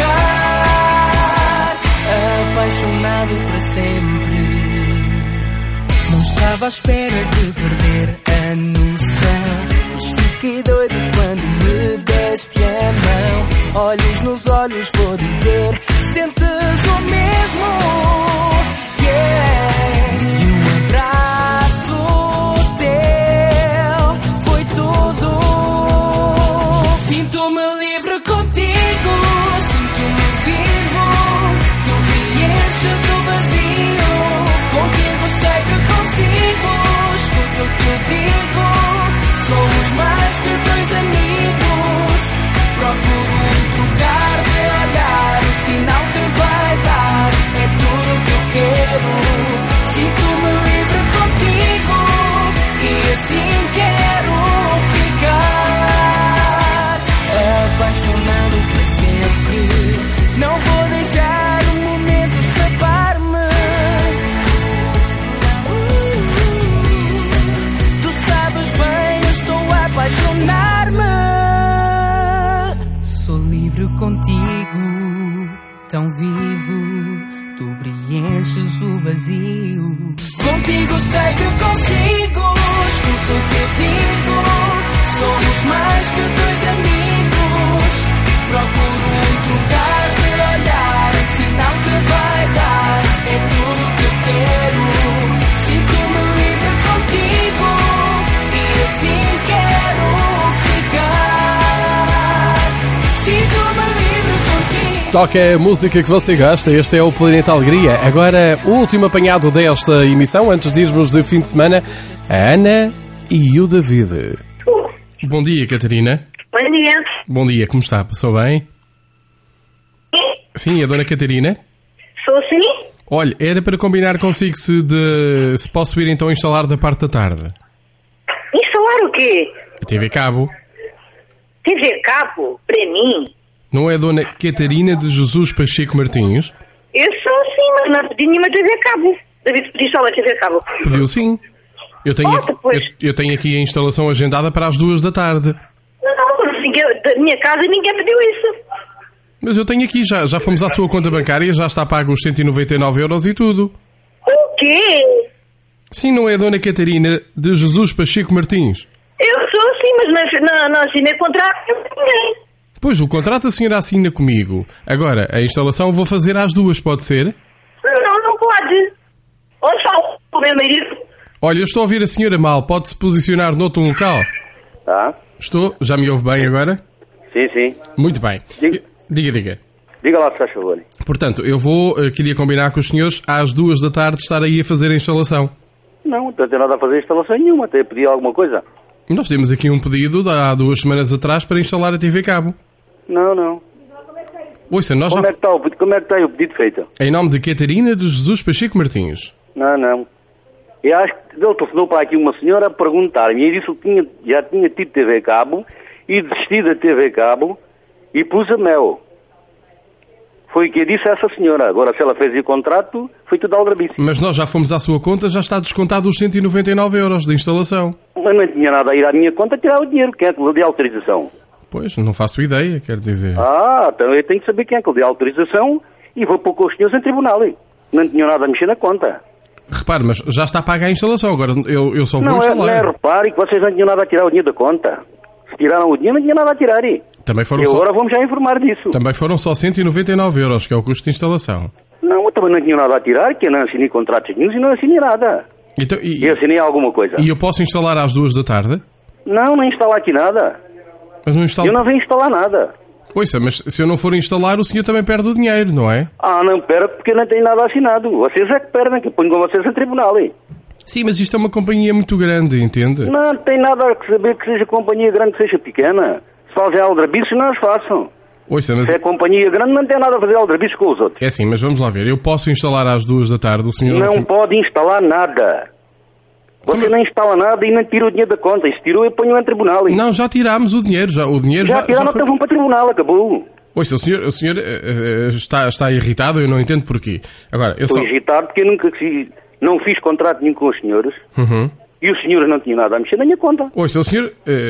ficar apaixonado para sempre. Não estava à espera de perder a noção, mas fiquei doido quando me deste a mão. Olhos nos olhos vou dizer, sentes o mesmo, yeah. E um abraço teu foi tudo. Sinto-me livre contigo, sinto-me vivo. Tu preenches o vazio. Contigo sei que consigo. Escuta o que eu digo. Somos mais que dois amigos. Procuro um lugar de olhar, um sinal que vai tão vivo, tu preenches o vazio. Contigo sei que consigo, escuta o que eu digo. Somos mais que dois amigos. Procuro um lugar de olhar, sinal que vai dar. É tudo que eu quero. Sinto-me livre contigo e assim quero ficar. Sinto-me livre contigo. Toca a música que você gosta, este é o Planeta Alegria. Agora, o último apanhado desta emissão, antes de irmos de fim de semana, a Ana e o David. Bom dia, Catarina. Bom dia. Bom dia, como está? Passou bem? Sim, a dona Catarina? Sou sim? Olha, era para combinar consigo se, de, se posso ir então instalar da parte da tarde. Instalar o quê? A T V Cabo. T V Cabo? Para mim? Não é a dona Catarina de Jesus Pacheco Martins? Eu sou sim, mas não pedi nenhuma T V Cabo. David, pedi só uma T V Cabo. Pediu sim. Eu tenho, aqui, eu, eu tenho aqui a instalação agendada para as duas da tarde. Não, não, ninguém, da minha casa ninguém pediu isso. Mas eu tenho aqui, já, já fomos à sua conta bancária, já está pago os cento e noventa e nove euros e tudo. O quê? Sim, não é a dona Catarina de Jesus Pacheco Martins? Eu sou sim, mas não, não, não assinei contrato com ninguém. Pois, o contrato a senhora assina comigo. Agora, a instalação vou fazer às duas, pode ser? Não, não pode. Onde está o meu marido? Olha, eu estou a ouvir a senhora mal. Pode-se posicionar noutro local? Tá. Estou. Já me ouve bem agora? Sim, sim. Muito bem. Diga, diga. Diga, diga lá, se faz favor. Portanto, eu vou, uh, queria combinar com os senhores às duas da tarde estar aí a fazer a instalação. Não, não tenho nada a fazer instalação nenhuma. Até pedir alguma coisa. Nós temos aqui um pedido de há duas semanas atrás para instalar a T V Cabo. Não, não. Ouça, nós como, já... é que está o, como é que está o pedido feito? Em nome de Catarina de Jesus Pacheco Martins. Não, não. Eu acho que ele telefonou para aqui uma senhora a perguntar-me e disse que tinha, já tinha tido T V Cabo e desisti da T V Cabo e pus a mel. Foi o que eu disse a essa senhora. Agora, se ela fez o contrato, foi tudo aldrabice. Mas nós já fomos à sua conta, já está descontado os cento e noventa e nove euros de instalação. Mas não tinha nada a ir à minha conta tirar o dinheiro. Quem é que lhe deu autorização? Pois, não faço ideia, quero dizer. Ah, então eu tenho que saber quem é que lhe deu autorização e vou pôr com os senhores em tribunal. Hein? Não tinham nada a mexer na conta. Repare, mas já está paga a instalação, agora eu, eu só vou não instalar. É, não é, repare que vocês não tinham nada a tirar o dinheiro da conta. Se tiraram o dinheiro, não tinha nada a tirar. Hein? Também foram e só... agora vamos já informar disso. Também foram só cento e noventa e nove euros, que é o custo de instalação. Não, eu também não tinha nada a tirar, que eu não assinei contratos nenhum e não assinei nada. Então, e... Eu assinei alguma coisa. E eu posso instalar às duas da tarde? Não, não instalar aqui nada. Mas não instalo... Eu não venho instalar nada. Ouça, mas se eu não for instalar, o senhor também perde o dinheiro, não é? Ah, não perco porque eu não tenho nada assinado. Vocês é que perdem, que eu ponho com vocês em tribunal. Hein? Sim, mas isto é uma companhia muito grande, entende? Não tem nada a saber que seja companhia grande, que seja pequena. Se fazem aldrabices, não os façam. Ouça, mas... Se é companhia grande, não tem nada a fazer aldrabices com os outros. É assim, mas vamos lá ver. Eu posso instalar às duas da tarde, o senhor... Não assim... pode instalar nada. Você Como... não instala nada e não tira o dinheiro da conta. E se tirou, eu ponho em tribunal. Hein? Não, já tirámos o dinheiro. Já, o dinheiro já, já tiraram, já foi... então vão para tribunal, acabou. Ouça, o senhor, o senhor uh, uh, está, está irritado, eu não entendo porquê. Agora, eu Estou só... irritado porque eu nunca fiz, não fiz contrato nenhum com os senhores. Uhum. E os senhores não tinham nada a mexer na minha conta. Ouça, o senhor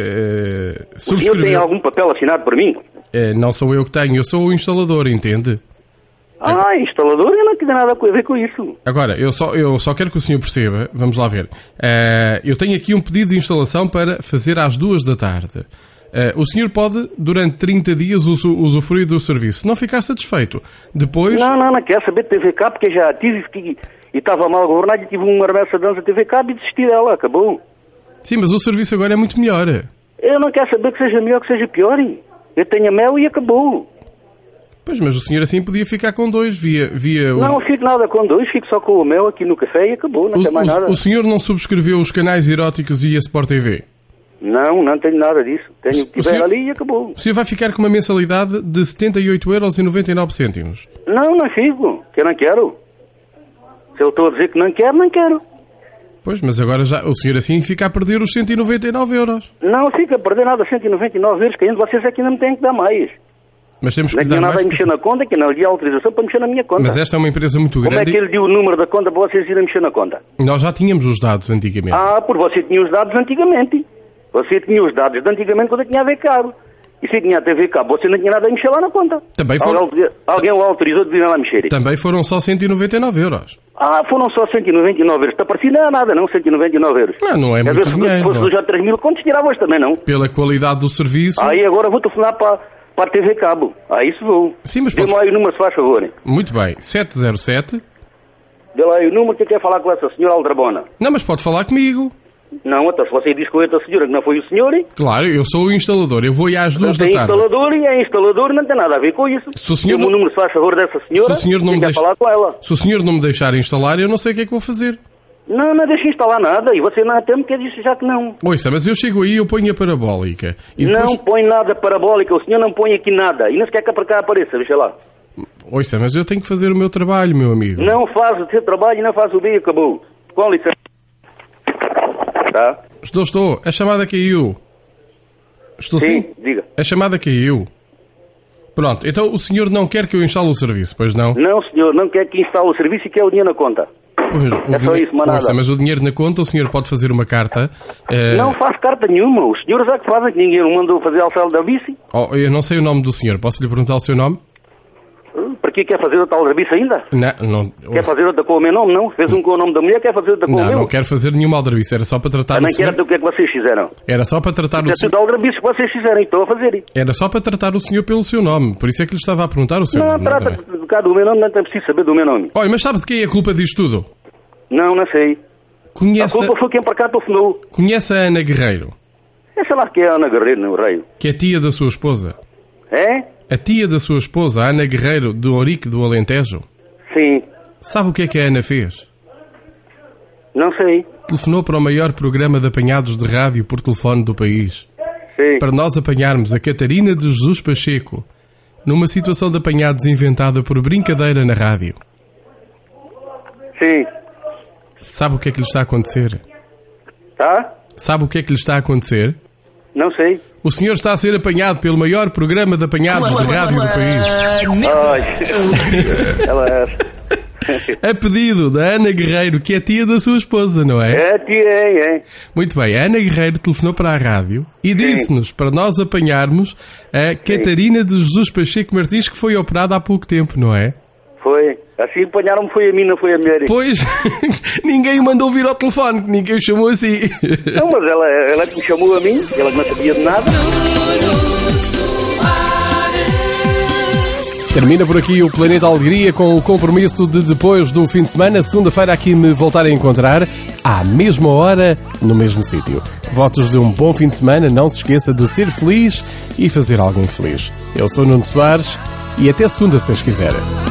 uh, subscreveu... O senhor tem algum papel assinado por mim? Uh, não sou eu que tenho, eu sou o instalador, entende? Ah, instalador, eu não tenho nada a ver com isso. Agora, eu só, eu só quero que o senhor perceba, vamos lá ver. Uh, eu tenho aqui um pedido de instalação para fazer às duas da tarde. Uh, o senhor pode, durante trinta dias, usufruir do serviço. Se não ficar satisfeito, depois... Não, não, não quero saber de T V K, porque já tive e estava mal governado e tive uma remessa de dança T V K e desisti dela, acabou. Sim, mas o serviço agora é muito melhor. Eu não quero saber que seja melhor, que seja pior. Eu tenho a mel e acabou. Pois, mas o senhor assim podia ficar com dois, via... via não, não fico nada com dois, fico só com o mel aqui no café e acabou, não o, tem mais o, nada. O senhor não subscreveu os canais eróticos e a Sport T V? Não, não tenho nada disso. Tenho o que tiver ali e acabou. O senhor vai ficar com uma mensalidade de setenta e oito euros e noventa e nove cêntimos. Não, não fico, que eu não quero. Se eu estou a dizer que não quero, não quero. Pois, mas agora já o senhor assim fica a perder os cento e noventa e nove euros. Não fica a perder nada, cento e noventa e nove euros, que ainda vocês aqui não me têm que dar mais. Mas temos que não dar nada mais a mexer na conta, que não lhe deu autorização para mexer na minha conta. Mas esta é uma empresa muito grande. Como é que ele deu o número da conta para vocês irem mexer na conta? Nós já tínhamos os dados antigamente. Ah, por você tinha os dados antigamente. Você tinha os dados de antigamente quando eu tinha a ver caro. E se tinha a T V Cabo, você não tinha nada a mexer lá na conta. Também foi... Alguém, alguém o autorizou de vir lá mexer. Também foram só cento e noventa e nove euros. Ah, foram só cento e noventa e nove euros. Está parecido não é nada, não? cento e noventa e nove euros. Não, não é Quer muito ver, dinheiro. Se fosse não. já três mil contos, tirava hoje também, não? Pela qualidade do serviço... Aí agora vou telefonar para, para a T V Cabo. Aí isso vou. Sim, mas Dê-me pode... lá aí o número, se faz favor. Hein? Muito bem. sete zero sete... Dê lá aí o número que quer falar com essa senhora Aldrabona. Não, mas pode falar comigo. Não, até se você diz com outra senhora que não foi o senhor... Hein? Claro, eu sou o instalador. Eu vou aí às duas da É tarde. instalador e é instalador, não tem nada a ver com isso. Se o senhor Dê-me não- o número, se faz favor, dessa senhora. Se o senhor não me quer deixa... falar com ela. Se o senhor não me deixar instalar, eu não sei o que é que vou fazer. Não, não deixa instalar nada. E você não há tempo que disse já que não. Ouça, mas eu chego aí e eu ponho a parabólica. E depois... Não põe nada parabólica. O senhor não põe aqui nada. E não se quer que para cá apareça, deixa lá. Ouça, mas eu tenho que fazer o meu trabalho, meu amigo. Não faz o seu trabalho e não faz o bem, acabou. Com licença. Tá? Estou, estou. A chamada caiu. Estou sim? Sim, diga. A chamada caiu. Pronto, então o senhor não quer que eu instale o serviço, pois não? Não, senhor, não quer que instale o serviço e quer o dinheiro na conta. Pois, o É só dinhe- isso, mas nada. Ouça, mas o dinheiro na conta, o senhor pode fazer uma carta. eh, Não faz carta nenhuma. Os senhores é que fazem, que ninguém o mandou fazer ao céu da bici. oh, eu não sei o nome do senhor, posso lhe perguntar o seu nome? Para que quer fazer outra ao da bici ainda? Não, não. Quer fazer outra com o meu nome, não? Fez um com o nome da mulher, quer fazer outra com o Não, meu? não quero fazer nenhuma aldrabice, era só para tratar Ah, o não senhor. quero o que é que vocês fizeram. Era só para tratar o É senhor. tudo aldrabice que vocês fizeram, estou a fazer. Era só para tratar o senhor pelo seu nome, por isso é que lhe estava a perguntar o seu Não, nome. trata não é? de cá do meu nome, não tem preciso saber do meu nome. Olha, mas sabe de quem é a culpa disto tudo? Não, não sei. Conhece A culpa foi quem para cá telefonou. Conhece a Ana Guerreiro, Essa lá que é a Ana Guerreiro, no Rei. que é tia da sua esposa? É? A tia da sua esposa, a Ana Guerreiro, do Ourique do Alentejo? Sim. Sabe o que é que a Ana fez? Não sei. Telefonou para o maior programa de apanhados de rádio por telefone do país. Sim. Para nós apanharmos a Catarina de Jesus Pacheco numa situação de apanhados inventada por brincadeira na rádio. Sim. Sabe o que é que lhe está a acontecer? Tá? Sabe o que é que lhe está a acontecer? Não sei. O senhor está a ser apanhado pelo maior programa de apanhados de rádio do país. Ai. Ela é. A pedido da Ana Guerreiro, que é tia da sua esposa, não é? É, tia, é, é. Muito bem, a Ana Guerreiro telefonou para a rádio e disse-nos para nós apanharmos a Catarina de Jesus Pacheco Martins, que foi operada há pouco tempo, não é? Foi. Assim apanharam-me, foi a mim, não foi a mulher. Pois, ninguém o mandou vir ao telefone, que ninguém o chamou assim. Não, mas ela, ela que me chamou a mim, ela que não sabia de nada. Termina por aqui o Planeta Alegria com o compromisso de depois do fim de semana, segunda-feira aqui me voltar a encontrar à mesma hora, no mesmo sítio. Votos de um bom fim de semana, não se esqueça de ser feliz e fazer alguém feliz. Eu sou Nuno Soares e até segunda, se Deus quiser.